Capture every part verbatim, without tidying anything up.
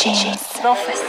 Sans facile.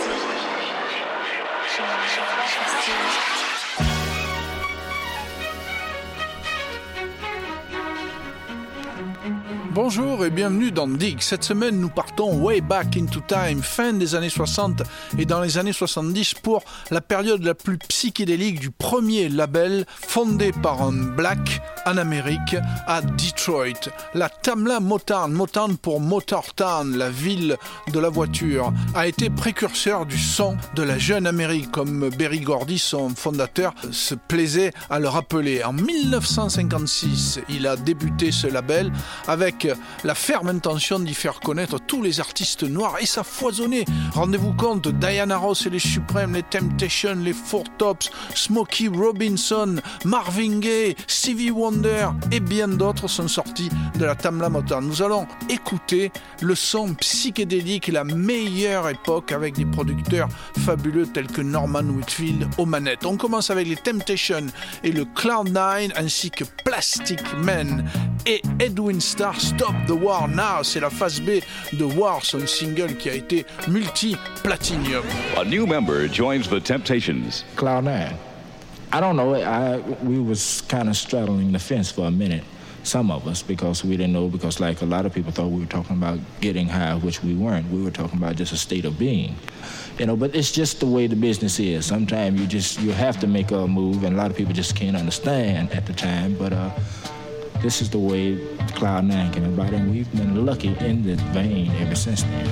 Bonjour et bienvenue dans Dig. Cette semaine, nous partons way back into time, fin des années soixante et dans les années soixante-dix pour la période la plus psychédélique du premier label fondé par un black en Amérique à Detroit. La Tamla Motown, Motown pour Motortown, la ville de la voiture, a été précurseur du son de la jeune Amérique, comme Berry Gordy, son fondateur, se plaisait à le rappeler. En dix-neuf cent cinquante-six, il a débuté ce label avec la ferme intention d'y faire connaître tous les artistes noirs, et ça foisonnait. Rendez-vous compte, Diana Ross et les Supremes, les Temptations, les Four Tops, Smokey Robinson, Marvin Gaye, Stevie Wonder et bien d'autres sont sortis de la Tamla Motown. Nous allons écouter le son psychédélique, la meilleure époque, avec des producteurs fabuleux tels que Norman Whitfield aux manettes. On commence avec les Temptations et le Cloud nine ainsi que Plastic Man et Edwin Starr. Stop the War Now, c'est la phase B de War, son single qui a été multi-platinum. A new member joins the Temptations. Cloud nine. I don't know. I we was kind of straddling the fence for a minute. Some of us, because we didn't know, because like a lot of people thought we were talking about getting high, which we weren't. We were talking about just a state of being, you know. But it's just the way the business is. Sometimes you just you have to make a move, and a lot of people just can't understand at the time. But uh. This is the way Cloud nine came about, and we've been lucky in this vein ever since then.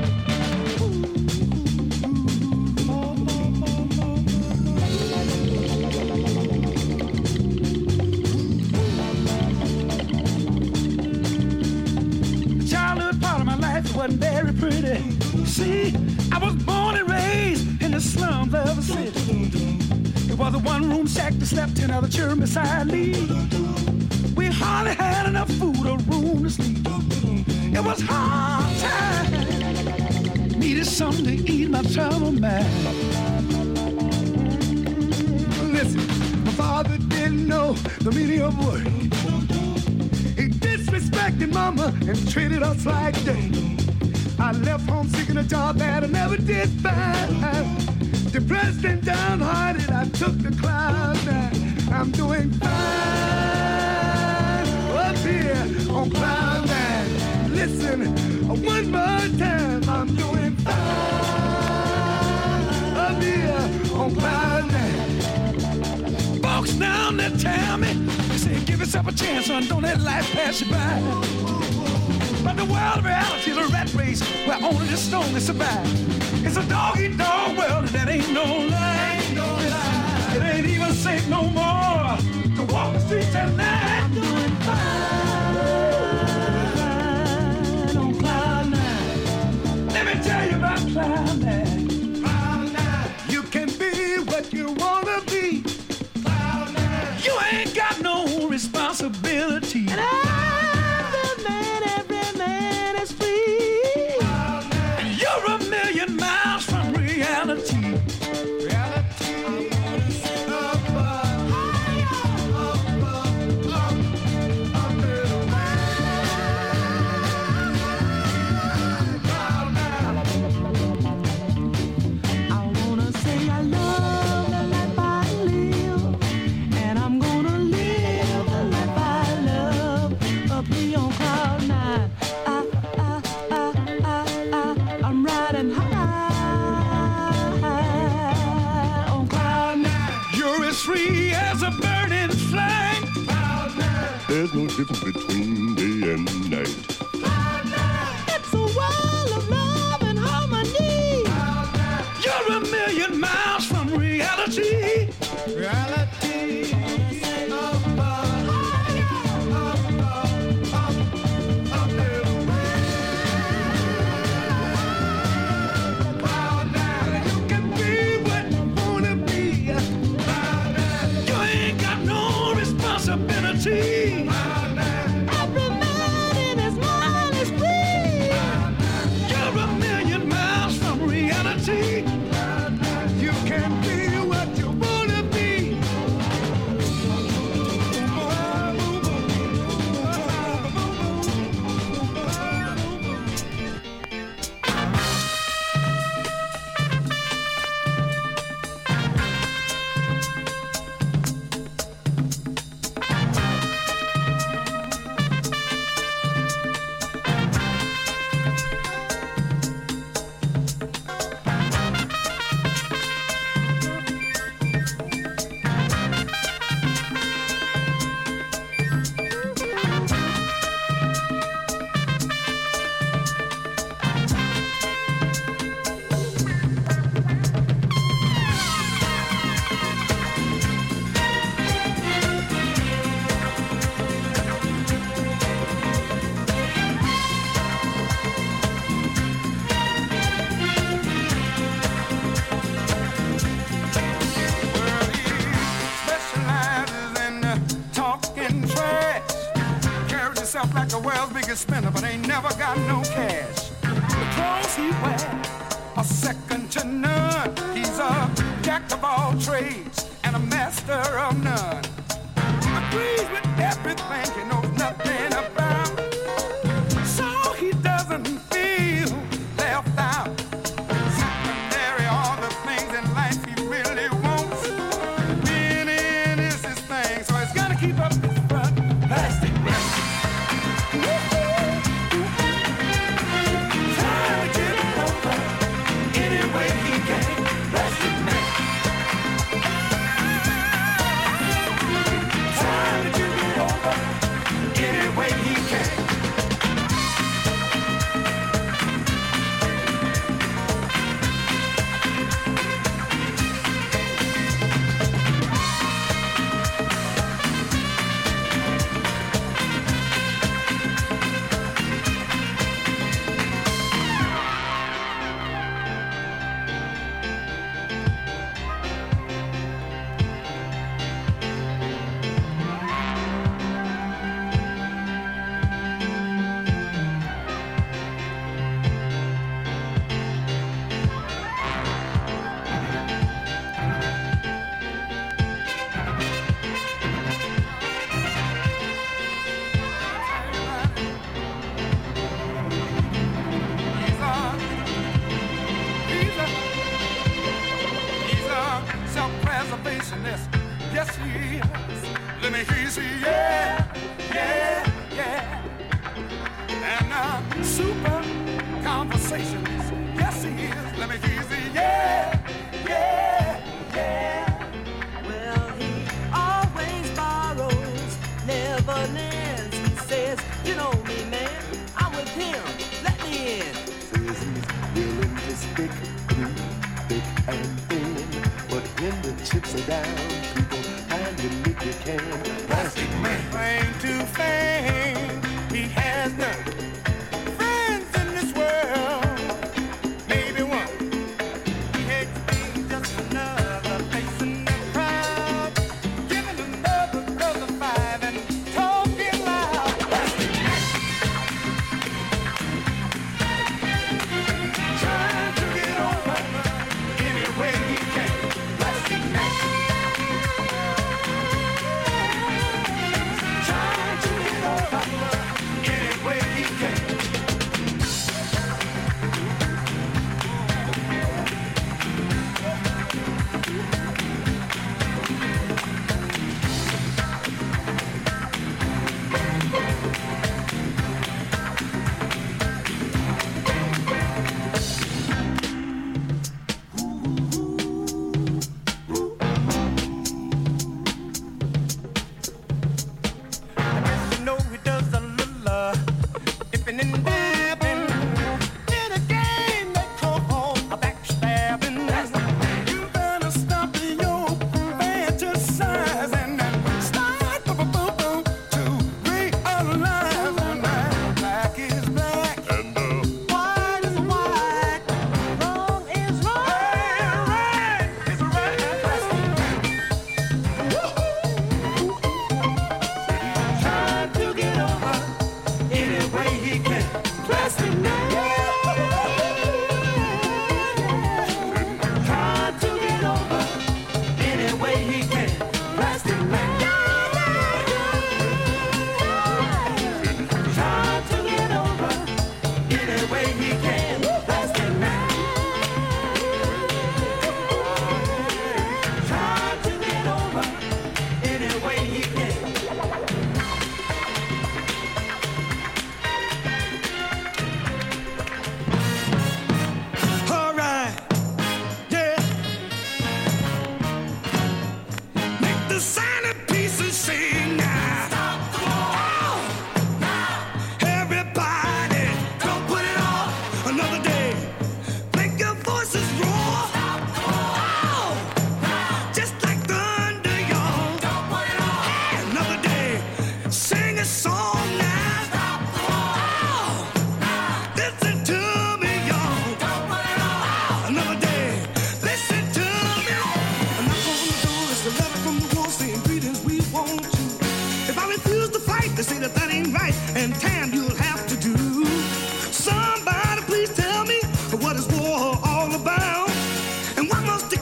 The childhood part of my life wasn't very pretty. See, I was born and raised in the slums of a city. It was a one-room shack that slept in other children beside me. We hardly had enough food or room to sleep. It was hard time. Needed something to ease my troubled mind. Listen, my father didn't know the meaning of work. He disrespected mama and treated us like dirt. I left home seeking a job that I never did find. Depressed and downhearted, I took the Cloud nine. I'm doing fine. Here on Cloud nine. Listen, one more time, I'm doing fine. Up here on Cloud nine. Folks down there tell me, they say, give yourself a chance, son, don't let life pass you by. But the world of reality is a rat race where only the strongest survive. It's a dog-eat-dog world, and that ain't no lie. Ain't no lie. It ain't even safe no more to walk the streets at night. I'm doing fine. Tell you about Cloud nine. Cloud nine. You can be what you wanna be. Cloud nine. You ain't got no responsibility. And I'm the man, every man is free. Cloud nine. And you're a million miles from reality. Reality. I wanna see above, above, above, up, up, little man. Free as a burning flame. There's no difference between day and night. It's a world of love and harmony. You're a million miles from reality. Reality. Every man in his mind is free. You're a million miles from reality. You can be what you wanna be. like the world's biggest spender, but ain't never got no cash. The clothes he wears are second to none. He's a jack of all trades and a master of none. Agrees with everything he knows nothing about, so he doesn't feel left out. Secondary, all the things in life he really wants. Winning is his thing, so he's gonna keep up his front. Plastic man. Trying to get it over any way he can. Plastic man. Trying to get it over any way he can. He's a, he's a, he's a self-preservationist. Yes, he is. Let me hear you say, yeah, yeah, yeah. And a super conversationist. Yes, he is. Let me hear you say, yeah, yeah, yeah. Well, he always borrows, never lends. He says, you know me, man, I'm with him, let me in. Says he's willing to stick through thick and thin, but when the chips are down, people hand you lick you can. Plastic man. Claim to fame, he has none. Friends in this world, maybe one. He hates being just another face in the crowd, giving another brother five and talking loud. Plastic man. Trying to get over any way he can. Plastic man. Trying to get over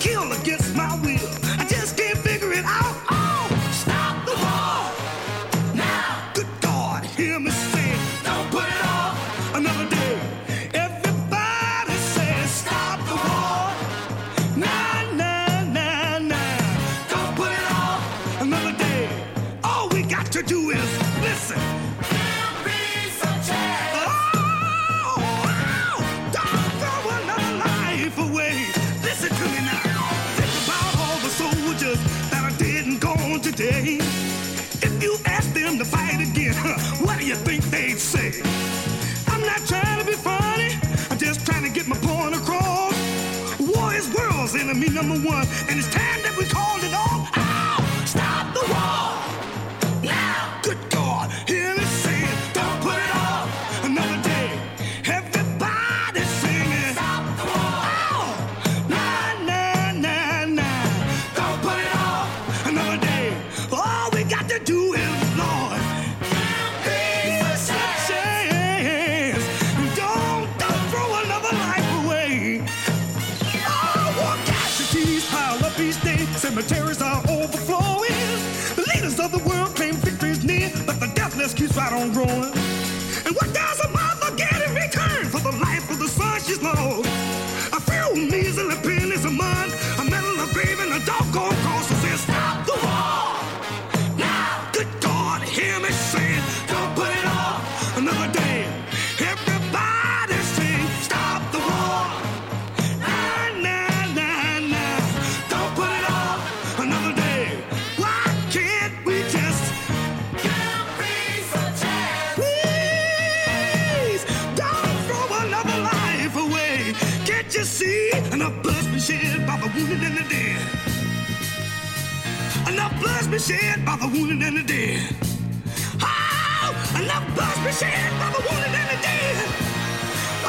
kill against my will. I just can't figure it out. Oh, stop the war. Now, good God, hear me say, don't put it off another day. Everybody says, stop the war. Nah, nah, nah, nah. Don't put it off another day. All we got to do is listen. There'll be some chance. Oh, oh, don't throw another life away. Listen to me now. Think about all the soldiers that are dead and gone today. If you ask them to fight again, huh, what do you think they'd say? I'm not trying to be funny. I'm just trying to get my point across. War is world's enemy number one, and it's time that we called it off. Ow! Stop the war! Now, good God, hear me saying, don't put it off another day. Everybody's singing, stop the war! Oh, nah, nah, nah, nah. Don't put it off another day. All we got to do is, Lord, peace and chance. Don't, don't throw another life away. Oh, war casualties pile up each day. Cemeteries are overflowing. The leaders of the world claim victory is near, but the death list keeps right on growing. And what does a mother get in return for the life of the son she's lost? A few measly pennies a month, a medal, a grave, and a doggone cross that says, stop the war. Now, good God, hear me saying, don't put it off another day. Everybody sing, stop the war. Nah, nah, nah, nah. Don't put it off another day. Why can't we just give peace a chance? Please, don't throw another life away. Can't you see enough blood's been shed by the wounded and the dead? Enough blood's been shed by the wounded and the dead. Oh, enough blood's been shed by the wounded and the dead. Oh,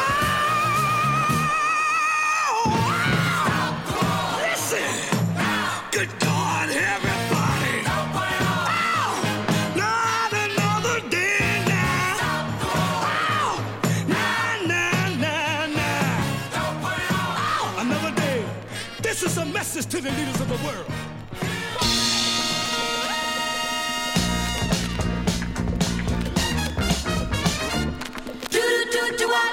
oh, listen. Good God, everybody. Oh, not another day now. Oh, nah, nah, nah, nah. Oh, another day. This is a message to the leaders of the world. Do do do do what?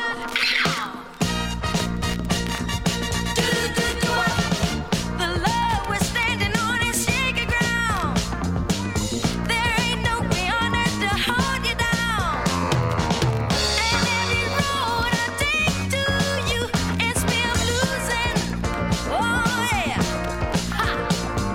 Do do do do what? The love we're standing on is shaky ground. There ain't no beyond earth to hold you down. And every road I take to you, it's me I'm losing. Oh yeah. Ha.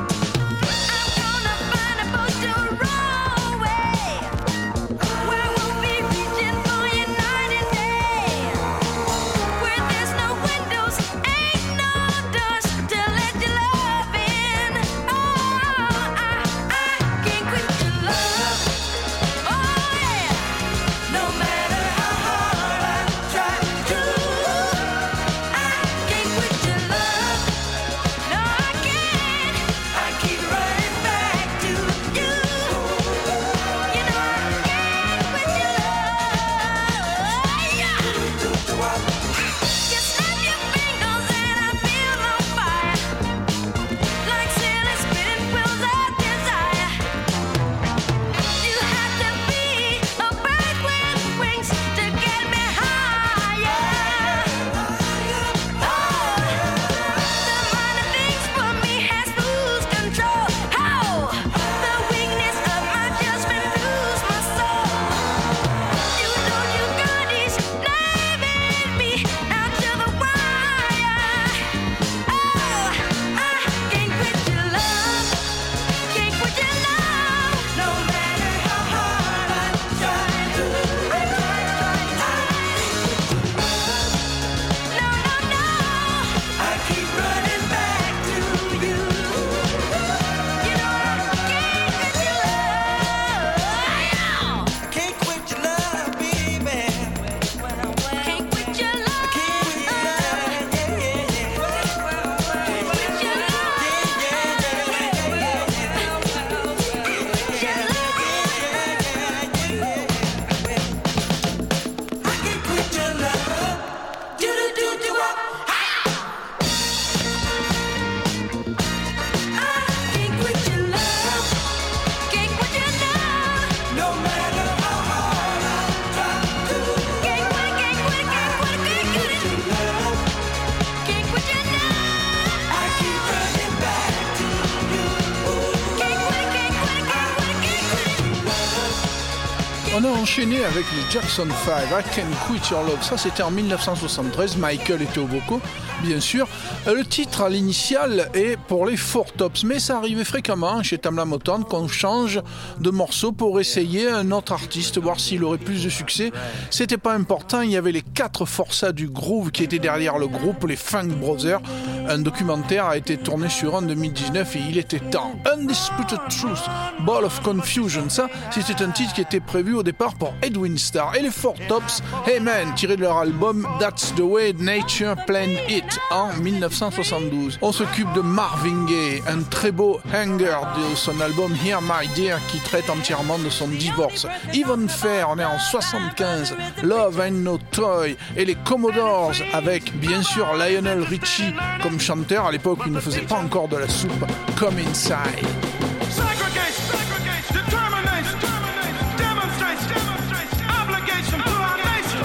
On a enchaîné avec les Jackson five, I Can't Quit Your Love. Ça, c'était en dix-neuf cent soixante-treize. Michael était au vocaux, bien sûr. Le titre à l'initiale est pour les Four Tops, mais ça arrivait fréquemment chez Tamla Motown qu'on change de morceau pour essayer un autre artiste, voir s'il aurait plus de succès. C'était pas important. Il y avait les quatre forçats du groove qui étaient derrière le groupe, les Funk Brothers. Un documentaire a été tourné sur en deux mille dix-neuf et il était temps. Undisputed Truth, Ball of Confusion. Ça, c'était un titre qui était prévu au départ pour Edwin Starr. Et les Four Tops, Hey Man, tiré de leur album That's the Way Nature Planned It en dix-neuf cent soixante-douze. On s'occupe de Marvin Gaye, un très beau hanger de son album Here My Dear qui traite entièrement de son divorce. Yvonne Fair, on est en soixante-quinze, Love Ain't No Toy, et les Commodores avec bien sûr Lionel Richie comme chanteur. À l'époque, il ne faisait pas encore de la soupe. Come Inside. Segregation, segregation, determination, demonstration, obligation to our nation.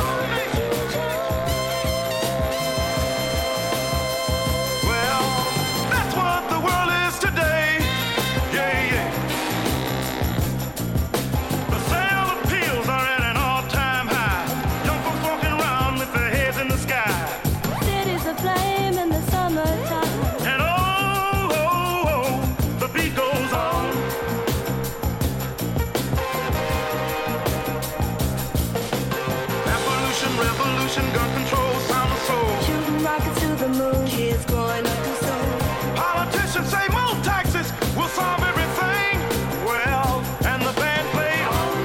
Well, that's what the world is today. Yeah, yeah. The sale of pills are at an all-time high. Young folks walking around with their heads in the sky. Cities aflame in the summertime. And oh, oh, oh, the beat goes on. Evolution, revolution, gun control, sound of soul. Shooting rockets to the moon. Kids growing up too soon. Politicians say more taxes will solve everything. Well, and the band play on.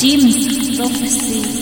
Jim's Prophecy.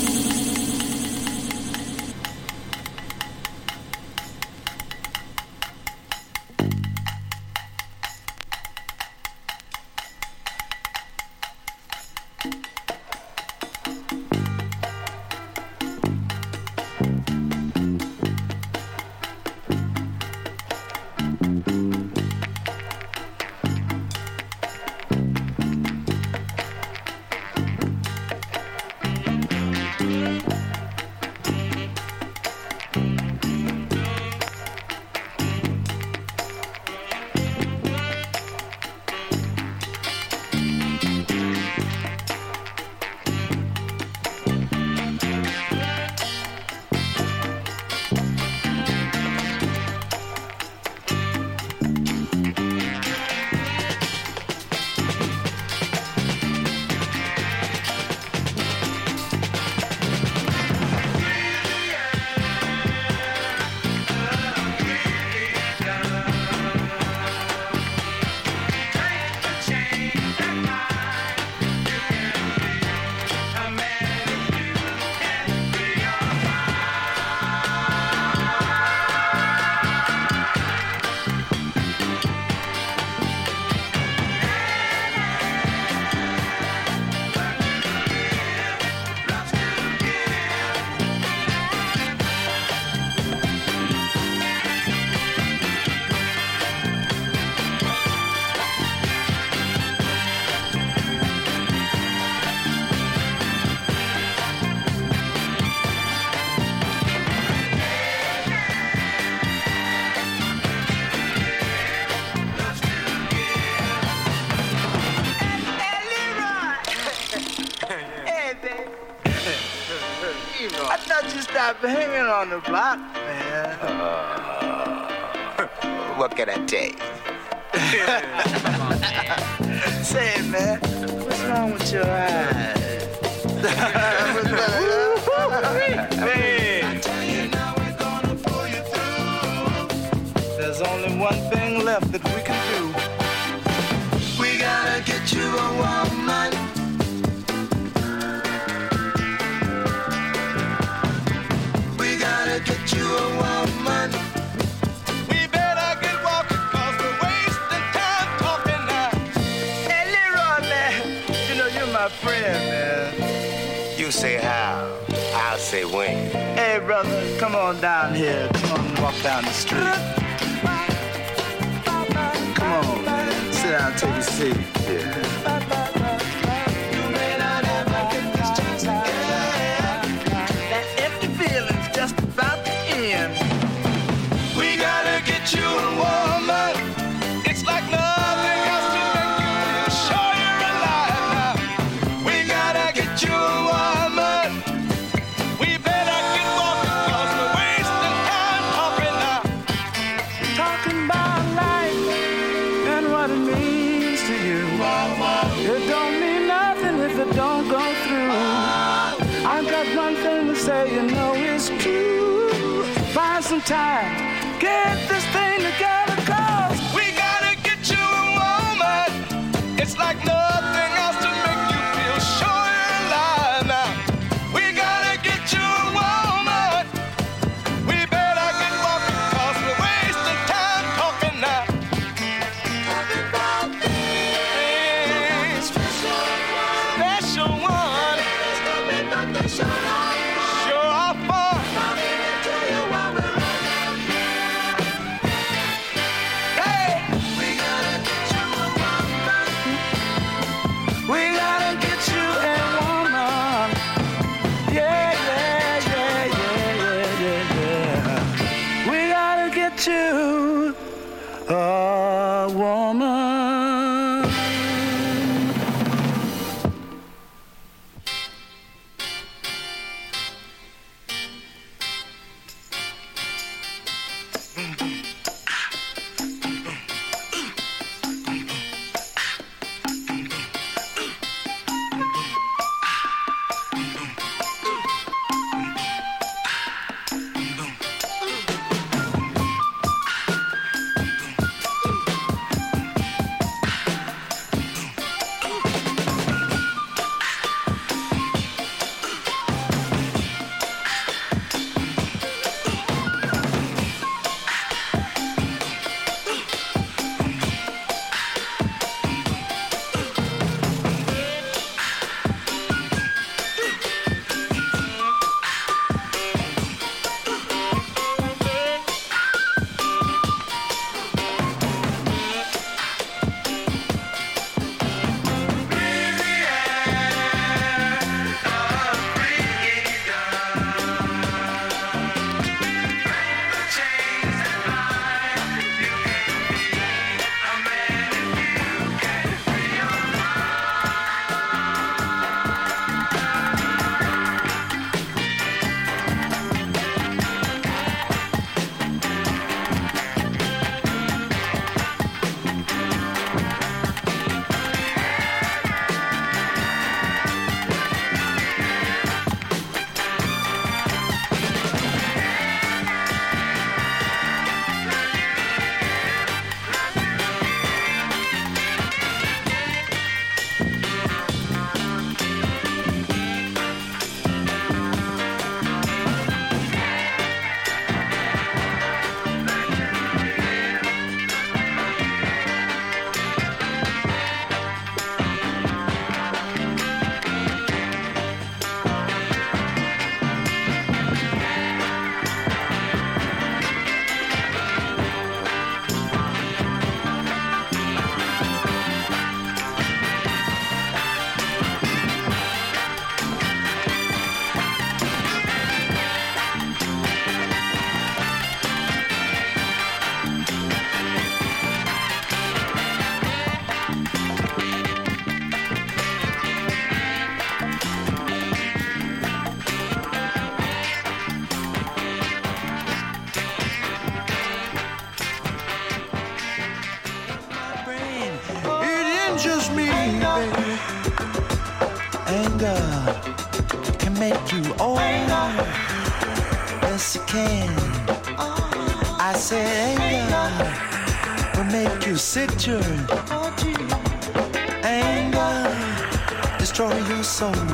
Hanging on the block, man. Uh, what can I tell you? Say, man, what's wrong with your eyes? Hey. I tell you now, we're gonna pull you through. There's only one thing left that we can do. We gotta get you a woman. Get you a woman. We better get walking, cause we're wasting time talking now. Hey, Leroy, man, you know you're my friend, man. You say how, I'll say when. Hey, brother, come on down here. Come on and walk down the street. Come on, man. Sit down, take a seat. Yeah. You a woman, it's like nothing else to make you feel sure you're alive now. We gotta get you a woman. We better get walking, cause we're wasting time talking now. Talking about life and what it means to you. It don't mean nothing if it don't go through. I got one thing to say, you know it's true. Find some time. Get this thing together, cause we gotta get you a woman. It's like nothing else to make you feel sure you're alive now. We gotta get you a woman. We better get walking, cause we're wasting time talking now. Happy birthday, special one. Sure are fun. To a woman. over. Yes, it can. I said anger will make you sick, children. Anger destroy your soul.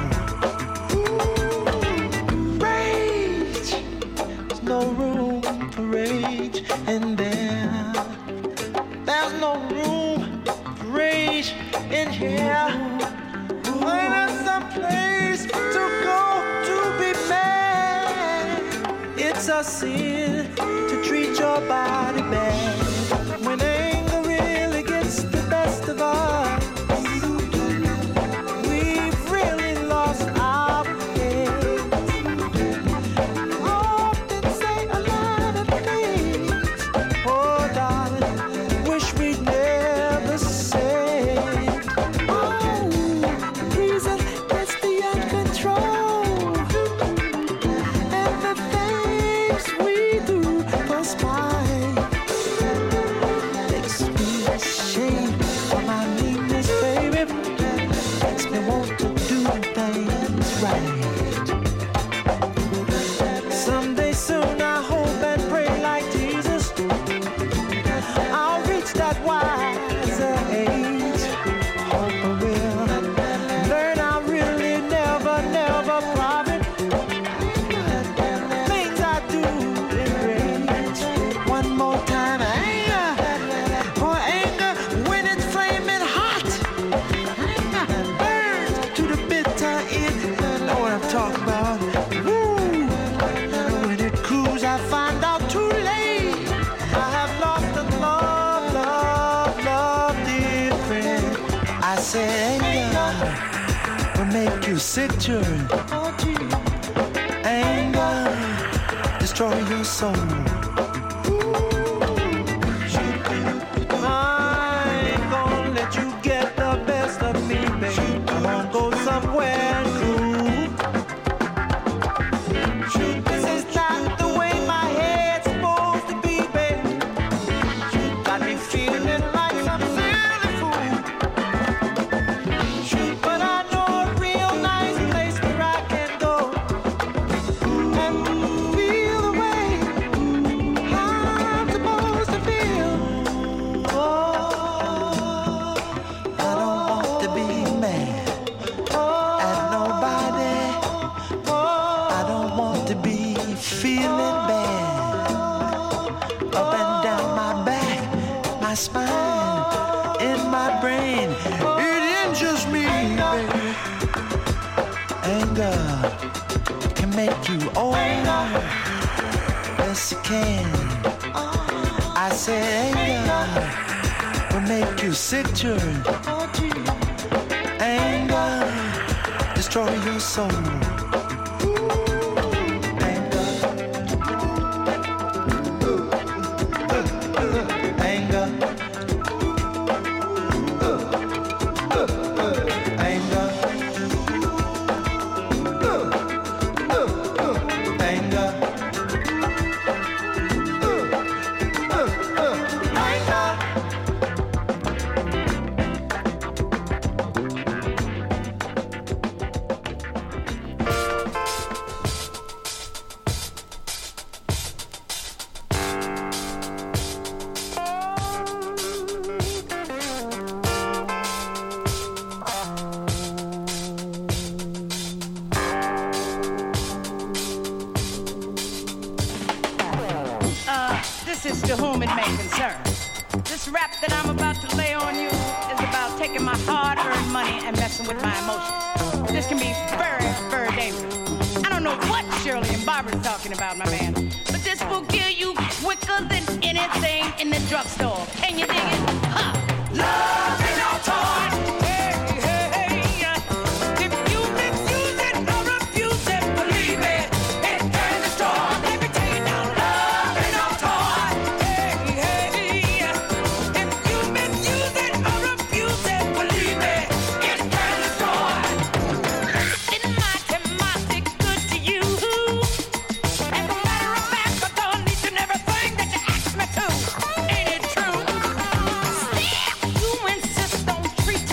Rage, there's no room for rage in there. There's no room for rage in here. When there's some place to go to be mad, it's a sin to treat your body bad. When anger really gets the best of us, we've really lost our heads. I often say a lot of things, oh darling, wish we'd never said. Oh, reason gets beyond control, and the things we do for spite makes me ashamed of my meanness, baby. Makes me want to do things right. Someday soon I hope and pray like Jesus, I'll reach that wiser age. Hope I will learn I really never, never profit. Things I do in rage. One more time, anger, for anger when it's flaming hot, burns to the bitter end. Know what I'm talking about? Woo! When it cools, I find out too late. I have lost the love, love, love, dear friend. I said anger will make you sick, children. Anger destroy your soul. I ain't gonna let you get the best of me, baby. I'm gonna go somewhere cool. This is not the way my head's supposed to be, baby. Got me feeling like some silly fool. But I know a real nice place where I can go and feel the way I'm supposed to feel. Oh, I don't want to be mad at nobody. I don't want to be feeling bad up and down my back, my spine, in my brain. It injures me, baby. Anger can make you older. Yes, it can. I said anger will make you sick, children. Anger destroy your soul. Anger, anger, anger, anger. This is to whom it may concern. This rap that I'm about to lay on you is about taking my hard-earned money and messing with my emotions. This can be very, very dangerous. I don't know what Shirley and Barbara's talking about, my man, but this will kill you quicker than anything in the drugstore. Can you dig it? Huh. Love ain't no toy. Hey, hey, hey. If you misuse it or refuse it, believe it, it can destroy. Let me tell you now, love ain't no toy. Hey, hey. If you misuse it or refuse it, believe it, it can destroy. Didn't my Timothy good to you? As a matter of fact, I done each and everything that you asked me to. Ain't it true? Still, you insist on treating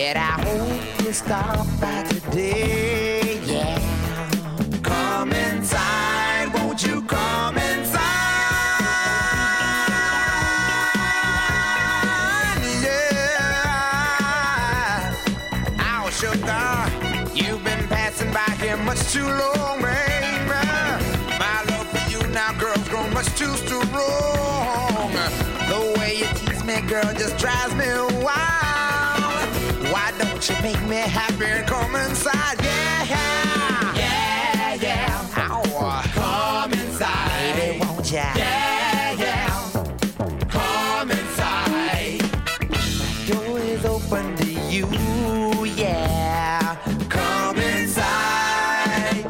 Said I hope you stop by today, yeah. Come inside, won't you come inside? Yeah. Oh, sugar, you've been passing by here much too long, baby. My love for you now, girl's grown much too strong. The way you tease me, girl, just drives me wild. Why don't you make me happy and come inside? Yeah, yeah, yeah. Oh, come inside, baby, won't ya? Yeah, yeah. Come inside. My door is open to you, yeah. Come inside.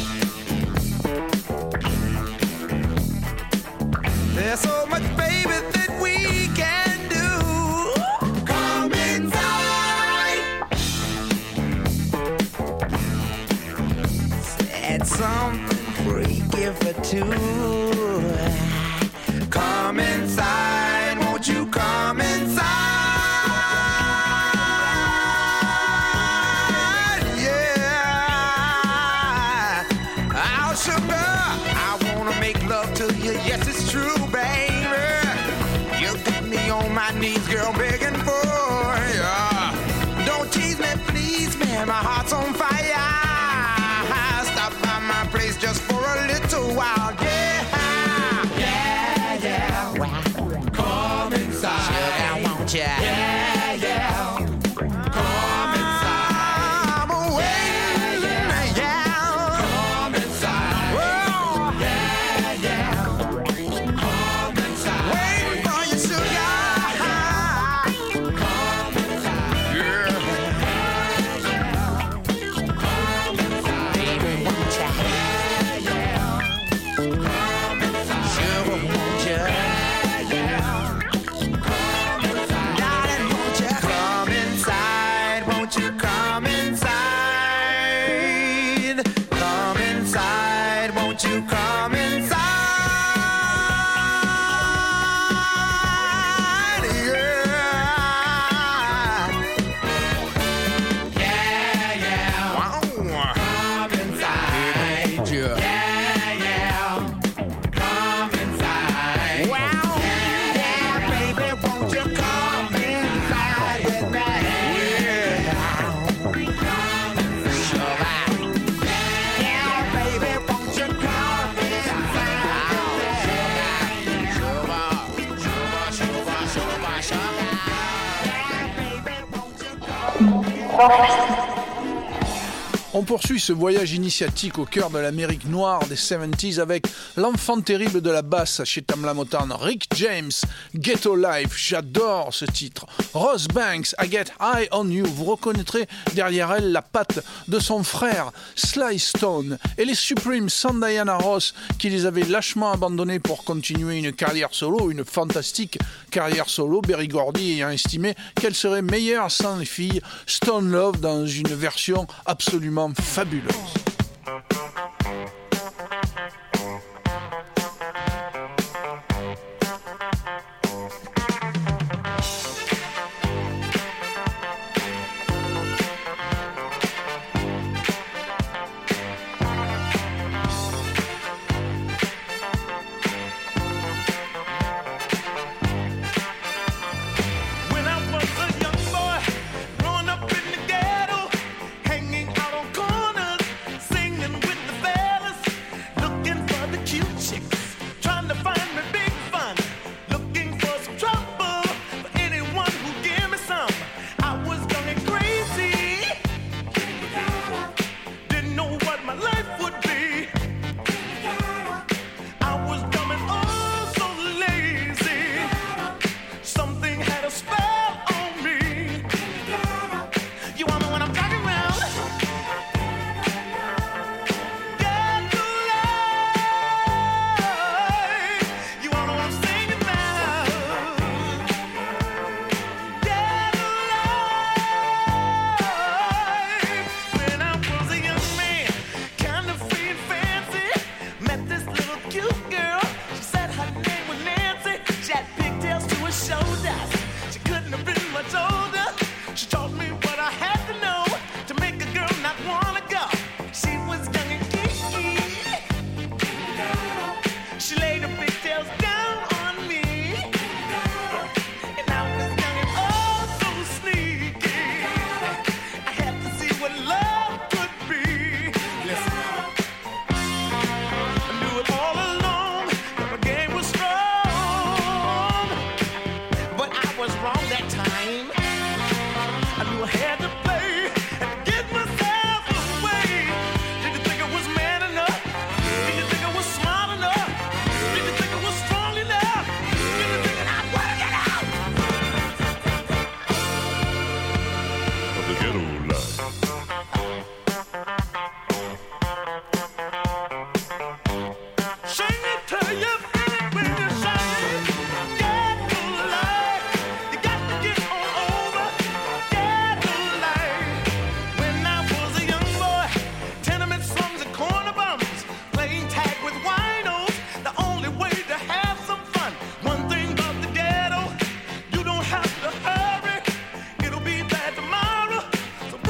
There's so much, baby, that we can do. Come inside. Said something freaky for two. Come inside, won't you come inside? Yeah. Oh, sugar, I wanna make love to you. Yes, it's true, baby. You got me on my knees, girl, begging for ya. Don't tease me, please, man. My heart's on fire. Stop by my place just for a little while. Yeah, yeah, yeah. Wow. Come inside. Sugar, won't ya? Yeah, yeah. Come inside. I'm waiting, yeah, yeah. Come inside. Whoa. Yeah, yeah. Come inside. Waiting for you, sugar. Come inside. Yeah. Come inside. Baby, won't ya? Yeah, yeah. Come inside. Sugar, won't ya? Yeah, yeah. Come inside. Darling, won't ya? Come inside. Won't you come inside? Come inside. Won't you come inside? Yeah. Yeah, yeah. Wow. Come inside. Yeah, yeah. Come inside. Wow. Yeah, baby, won't you come inside with me? Yeah. Sugar. Yeah, baby, won't you come inside? Sugar. Sugar, sugar, sugar, sugar. Yeah, baby, won't you come? On poursuit ce voyage initiatique au cœur de l'Amérique noire des soixante-dix avec l'enfant terrible de la basse chez Tamla Motown, Rick James, Ghetto Life, j'adore ce titre. Rose Banks, I Get High on You, vous reconnaîtrez derrière elle la patte de son frère Sly Stone et les Supremes sans Diana Ross qui les avaient lâchement abandonnés pour continuer une carrière solo, une fantastique carrière solo, Berry Gordy ayant estimé qu'elle serait meilleure sans les filles Stone Love dans une version absolument fabuleuse. When I was a young boy, growing up in the ghetto, hanging out on corners, singing with had to play and get myself away. Did you think I was man enough? Did you think I was smart enough? Did you think I was strong enough? Did you think I'd work it out? Of the ghetto life. Sing it till you feel it when you sing it. Ghetto life, you got to get on over. Ghetto life. When I was a young boy, tenement slums and corner bums, playing tag with winos, the only way to have some fun. One thing about the ghetto, you don't have to hurry. It'll be bad tomorrow. So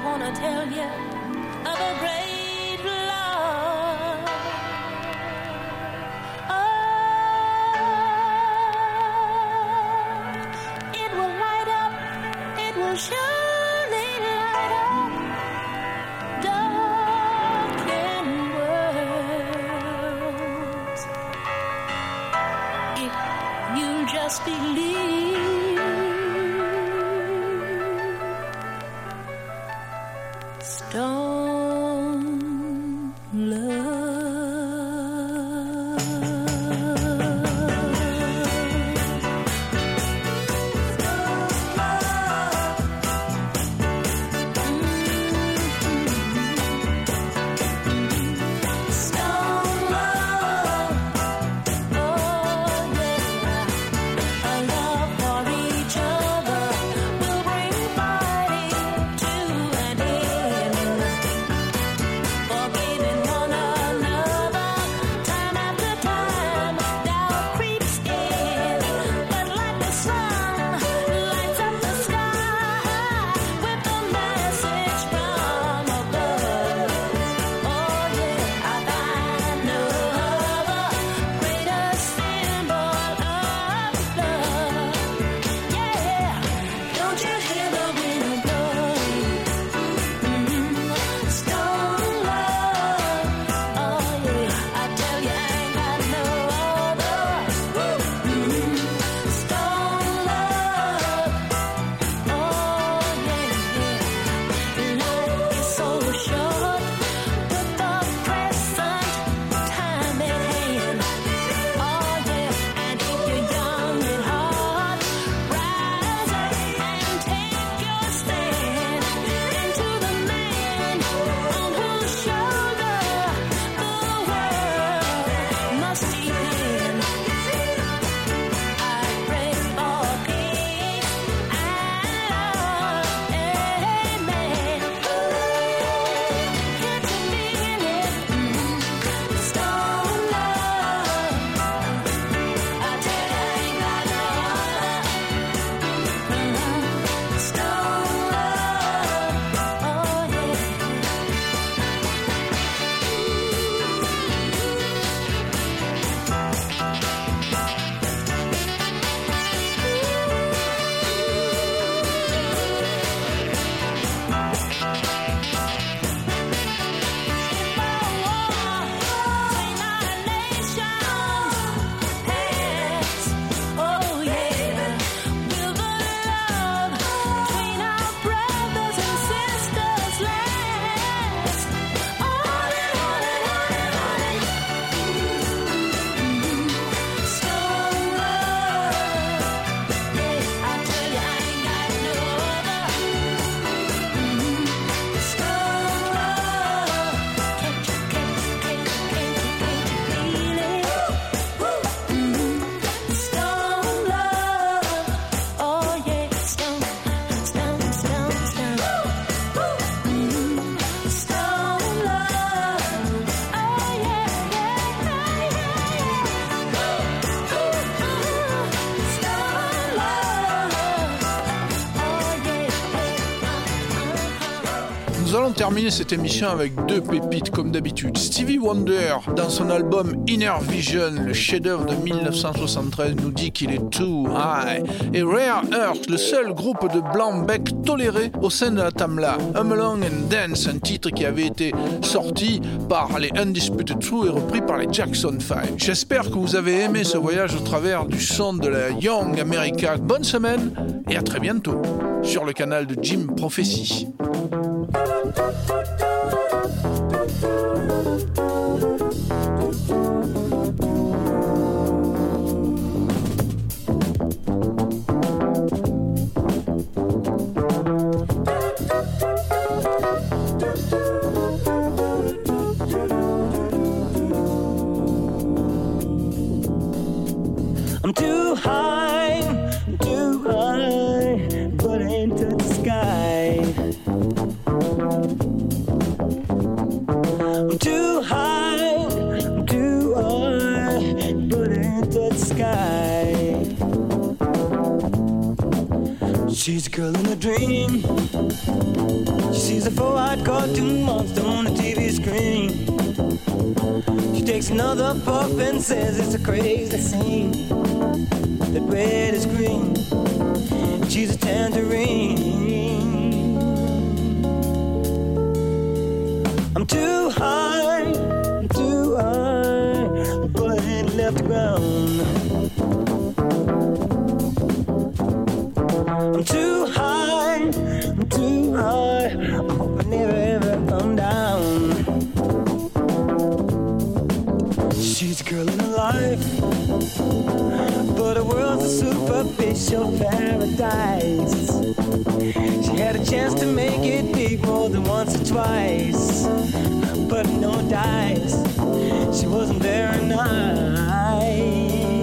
wanna tell you of a great love. Oh, it will light up, it will surely light up darkened worlds if you just believe. Stone love. Nous allons terminer cette émission avec deux pépites comme d'habitude. Stevie Wonder, dans son album Inner Vision, le chef-d'œuvre de mille neuf cent soixante-treize, nous dit qu'il est too high. Et Rare Earth, le seul groupe de blanc-bec toléré au sein de la Tamla. Hum Along and Dance, un titre qui avait été sorti par les Undisputed Truth et repris par les Jackson five. J'espère que vous avez aimé ce voyage au travers du son de la Young America. Bonne semaine et à très bientôt sur le canal de Jim Prophecy. I'm too high, too high, but into the sky. I'm too high, too high, but into the sky. She's a girl in a dream. She sees a four-eyed cartoon monster on the T V screen. She takes another puff and says it's a crazy scene. That red is green. She's a tangerine. I'm too high, I'm too high, but I ain't left the ground. I'm too high, I'm too high, I hope I never ever come down. She's a girl in her life, but her world's a superficial paradise. She had a chance to make it big more than once or twice, but no dice, she wasn't very nice.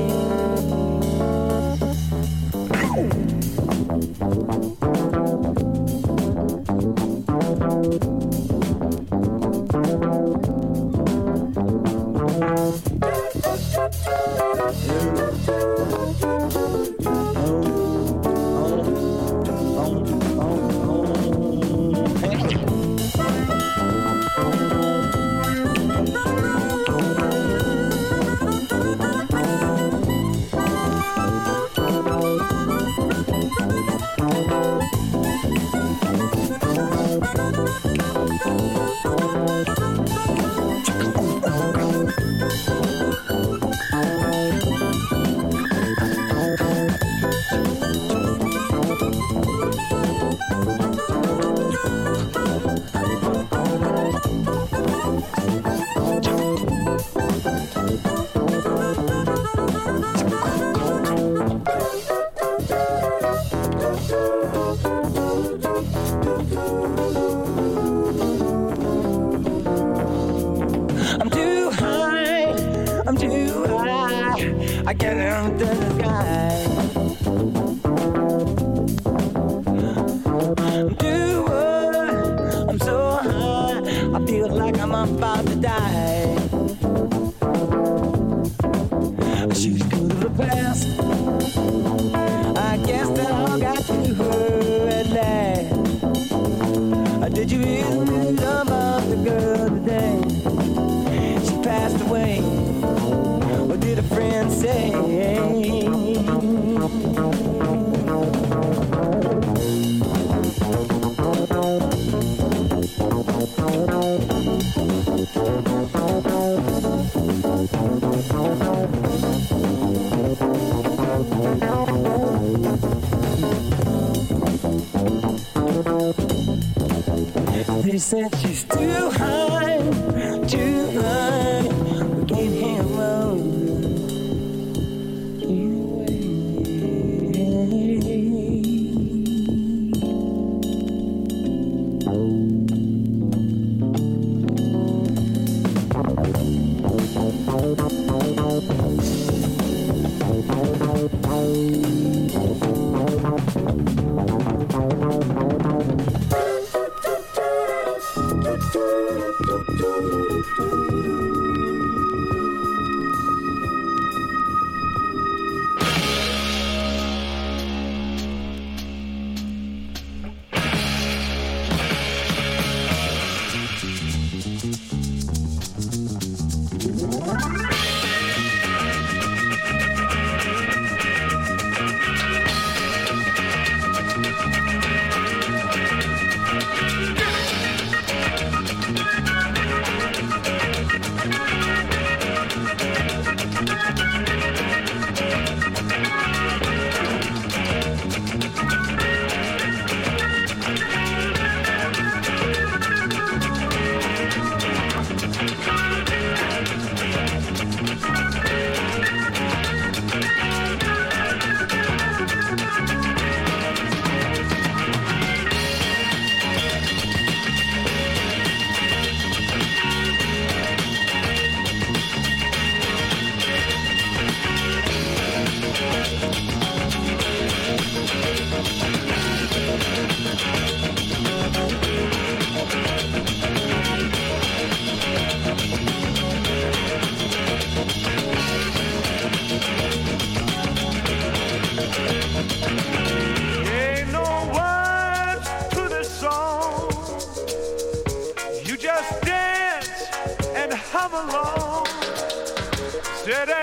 I get into the sky. I'm too high, I'm so high, I feel like I'm about to die. She's good of the past, I guess that all got to her at last. Did you hear the news about the girl today? She passed away. What did a friend say? They said she's too high, too high, we can't hear her. City.